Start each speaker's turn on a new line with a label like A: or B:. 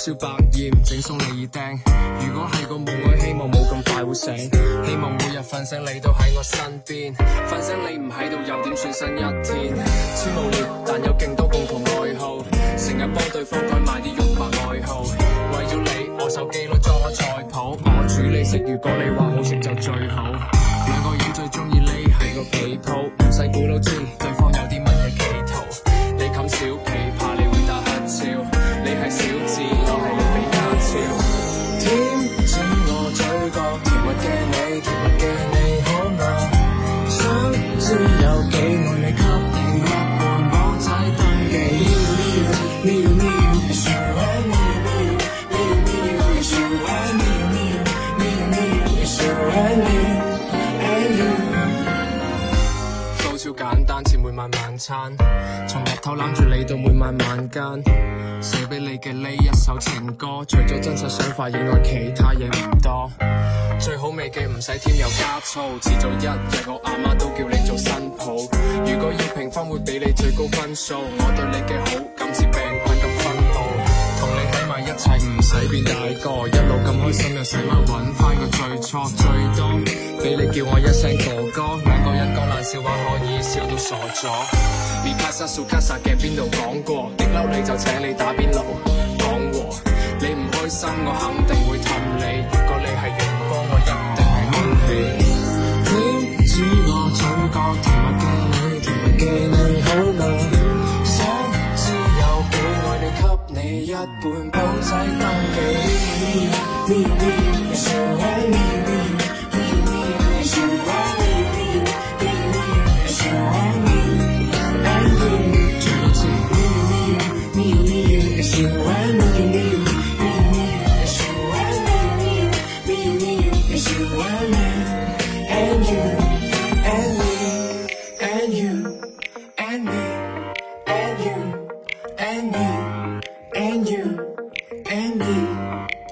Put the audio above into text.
A: 燒百厭，整鬆你耳釘。如果係個夢，我希望冇咁快會醒。希望每日瞓醒你都喺我身邊，瞓醒你唔喺度又點算新一天？超無聊，但有勁多共同愛好，成日幫對方改埋啲肉麻愛好。為咗你，我手機攞裝咗菜譜，我煮你食，如果你話好食就最好。兩個人最中意匿喺個被鋪，唔使估都知對方有啲乜嘢企圖。你冚小被，怕你會打乞嗤，你係小智，我係你比家超。點知我嘴角甜蜜嘅你，甜蜜嘅你好嗎？想知有幾愛你，給你一半保仔登記。超簡單，似每晚晚餐，從日頭攬住你到每晚晚間，寫俾你嘅呢一首情歌，除咗真實想法以外，其他嘢唔多。最好味嘅唔使添油加醋，遲早一日我阿媽都叫你做新抱。如果要評分，會俾你最高分數。我對你嘅好感似病菌咁分佈，同你喺埋一齊唔使變大個，一路咁開心又使乜揾翻個最初？最多俾你叫我一聲哥哥，兩個人講爛笑話可以笑到傻咗。米卡莎蘇卡薩嘅邊度講過，激嬲你就請你打邊爐講和。你唔開心我肯定會氹你，如果你係陽光我一定係空氣。點知我嘴角甜蜜嘅你，甜蜜嘅你好嗎？想知有幾愛你，給你一半保仔登記。And you